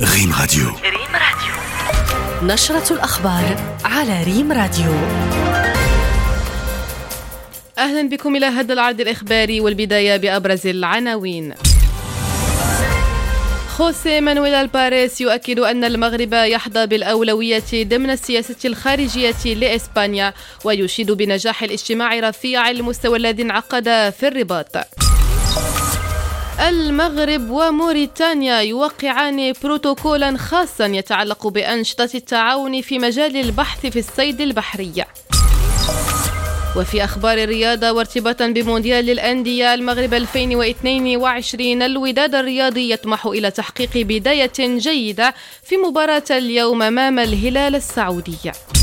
ريم راديو. نشرة الأخبار على ريم راديو. أهلا بكم إلى هذا العرض الإخباري، والبداية بأبرز العناوين. خوسيه مانويل الباريس يؤكد أن المغرب يحظى بالأولوية ضمن السياسة الخارجية لإسبانيا، ويشيد بنجاح الاجتماع رفيع المستوى الذي انعقد في الرباط. المغرب وموريتانيا يوقعان بروتوكولا خاصا يتعلق بأنشطة التعاون في مجال البحث في الصيد البحري. وفي أخبار الرياضة، وارتباطا بمونديال الأندية المغرب 2022، الوداد الرياضي يطمح إلى تحقيق بداية جيدة في مباراة اليوم أمام الهلال السعودي.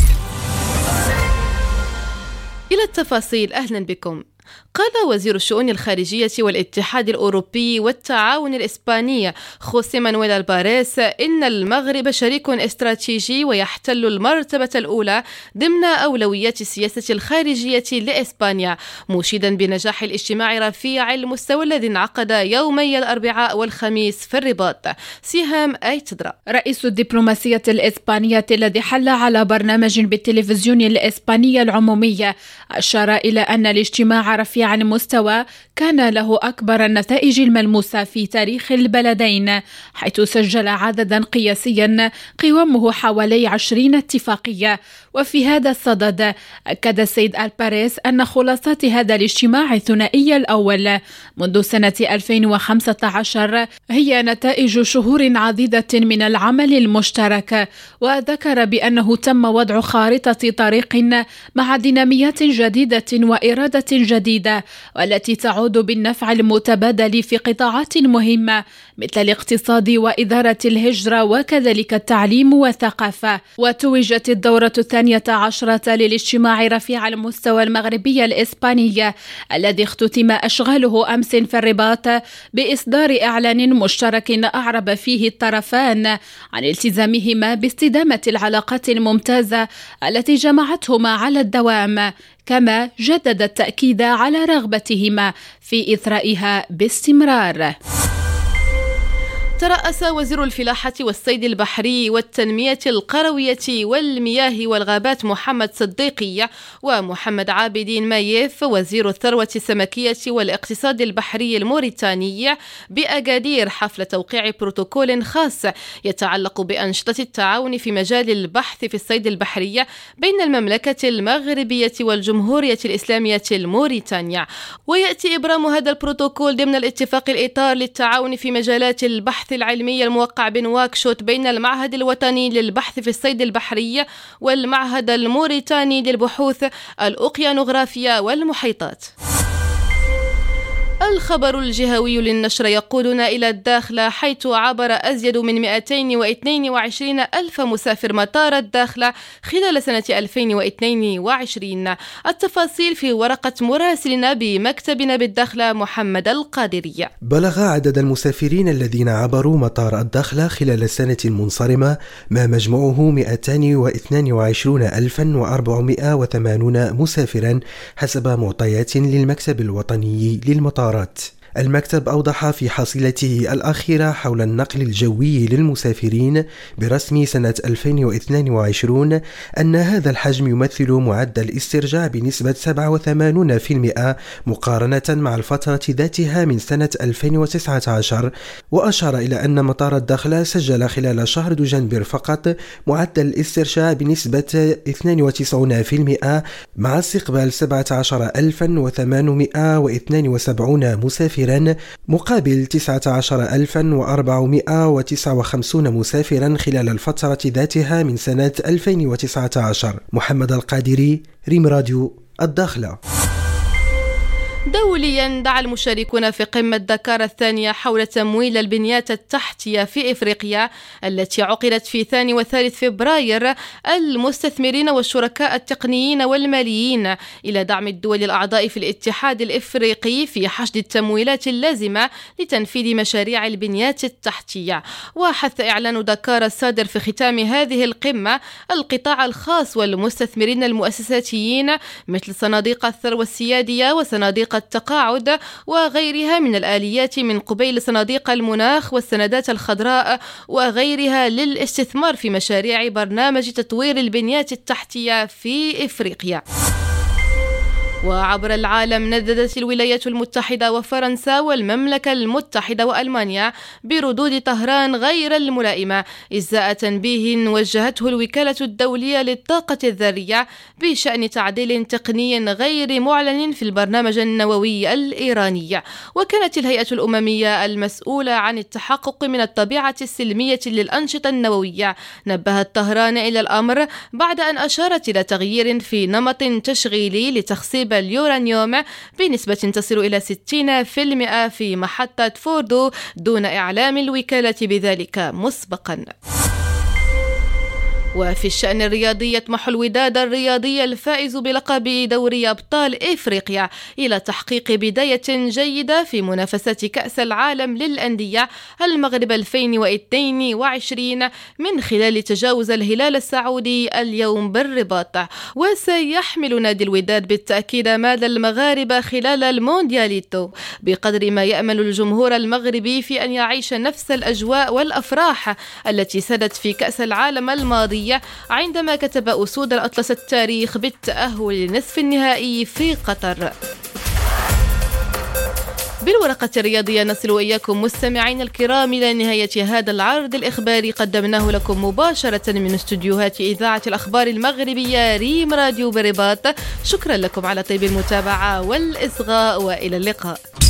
إلى التفاصيل، أهلا بكم. قال وزير الشؤون الخارجية والاتحاد الأوروبي والتعاون الإسباني خوسيه مانويل الباريس إن المغرب شريك استراتيجي ويحتل المرتبة الأولى ضمن أولويات السياسة الخارجية لإسبانيا، مشيدا بنجاح الاجتماع رفيع المستوى الذي انعقد يومي الأربعاء والخميس في الرباط. سهام أيتدرا رئيس الدبلوماسية الإسبانية الذي حل على برنامج بالتلفزيون الإسباني العمومي أشار إلى أن الاجتماع رفيع المستوى كان له أكبر النتائج الملموسة في تاريخ البلدين، حيث سجل عددا قياسيا قوامه حوالي 20 اتفاقية. وفي هذا الصدد أكد السيد الباريس أن خلاصات هذا الاجتماع الثنائي الأول منذ سنة 2015 هي نتائج شهور عديدة من العمل المشترك، وذكر بأنه تم وضع خارطة طريق مع ديناميات جديدة وإرادة جديدة، والتي تعود بالنفع المتبادل في قطاعات مهمة مثل الاقتصاد وإدارة الهجرة وكذلك التعليم والثقافة. وتوجت الدورة 12 للاجتماع رفيع المستوى المغربي الإسباني الذي اختتم أشغاله أمس في الرباط بإصدار إعلان مشترك أعرب فيه الطرفان عن التزامهما باستدامة العلاقات الممتازة التي جمعتهما على الدوام، كما جدد التأكيد على رغبتهما في إثرائها باستمرار. ترأس وزير الفلاحة والصيد البحري والتنمية القروية والمياه والغابات محمد صديقي ومحمد عابدين مايف وزير الثروة السمكية والاقتصاد البحري الموريتاني بأكادير حفل توقيع بروتوكول خاص يتعلق بأنشطة التعاون في مجال البحث في الصيد البحري بين المملكة المغربية والجمهورية الإسلامية الموريتانيا. ويأتي إبرام هذا البروتوكول ضمن الاتفاق الإطار للتعاون في مجالات البحث العلمي الموقع بنواكشوط بين المعهد الوطني للبحث في الصيد البحري والمعهد الموريتاني للبحوث الأوقيانوغرافية والمحيطات. الخبر الجهوي للنشر يقودنا إلى الداخلة، حيث عبر أزيد من 222 ألف مسافر مطار الداخلة خلال سنة 2022. التفاصيل في ورقة مراسلنا بمكتبنا بالداخلة محمد القادري. بلغ عدد المسافرين الذين عبروا مطار الداخلة خلال السنة المنصرمة ما مجموعه 222,480 مسافرا حسب معطيات للمكتب الوطني للمطار. المكتب أوضح في حصيلته الأخيرة حول النقل الجوي للمسافرين برسم سنة 2022 أن هذا الحجم يمثل معدل استرجاع بنسبة 87% مقارنة مع الفترة ذاتها من سنة 2019. وأشار إلى أن مطار الداخلة سجل خلال شهر دجنبر فقط معدل استرجاع بنسبة 92% مع استقبال 17,872 مسافرا مقابل 19,459 مسافرا خلال الفترة ذاتها من سنة 2019. محمد القادري، ريم راديو، الداخلة. دوليا، دعا المشاركون في قمة دكار الثانية حول تمويل البنيات التحتية في إفريقيا التي عقدت في 2 و3 فبراير المستثمرين والشركاء التقنيين والماليين إلى دعم الدول الأعضاء في الاتحاد الإفريقي في حشد التمويلات اللازمة لتنفيذ مشاريع البنيات التحتية. وحث إعلان دكار الصادر في ختام هذه القمة القطاع الخاص والمستثمرين المؤسساتيين مثل صناديق الثروة السيادية وصناديق التقاعد وغيرها من الآليات من قبيل صناديق المناخ والسندات الخضراء وغيرها للاستثمار في مشاريع برنامج تطوير البنيات التحتية في إفريقيا. وعبر العالم نددت الولايات المتحدة وفرنسا والمملكة المتحدة وألمانيا بردود طهران غير الملائمة إزاء تنبيه وجهته الوكالة الدولية للطاقة الذرية بشأن تعديل تقني غير معلن في البرنامج النووي الإيراني. وكانت الهيئة الأممية المسؤولة عن التحقق من الطبيعة السلمية للأنشطة النووية نبهت طهران إلى الأمر بعد أن أشارت إلى تغيير في نمط تشغيلي لتخصيب اليورانيوم بنسبة تصل إلى 60% في محطة فوردو دون إعلام الوكالة بذلك مسبقا. وفي الشأن الرياضي يطمح الوداد الرياضي الفائز بلقب دوري أبطال إفريقيا إلى تحقيق بداية جيدة في منافسات كأس العالم للأندية المغرب 2022 من خلال تجاوز الهلال السعودي اليوم بالرباط. وسيحمل نادي الوداد بالتأكيد مال المغاربة خلال الموندياليتو بقدر ما يأمل الجمهور المغربي في أن يعيش نفس الأجواء والأفراح التي سدت في كأس العالم الماضي عندما كتب أسود الأطلس التاريخ بالتأهل لنصف النهائي في قطر. بالورقة الرياضية نصل إياكم مستمعين الكرام إلى نهاية هذا العرض الإخباري قدمناه لكم مباشرة من استديوهات إذاعة الأخبار المغربية ريم راديو برباط. شكرا لكم على طيب المتابعة والإصغاء وإلى اللقاء.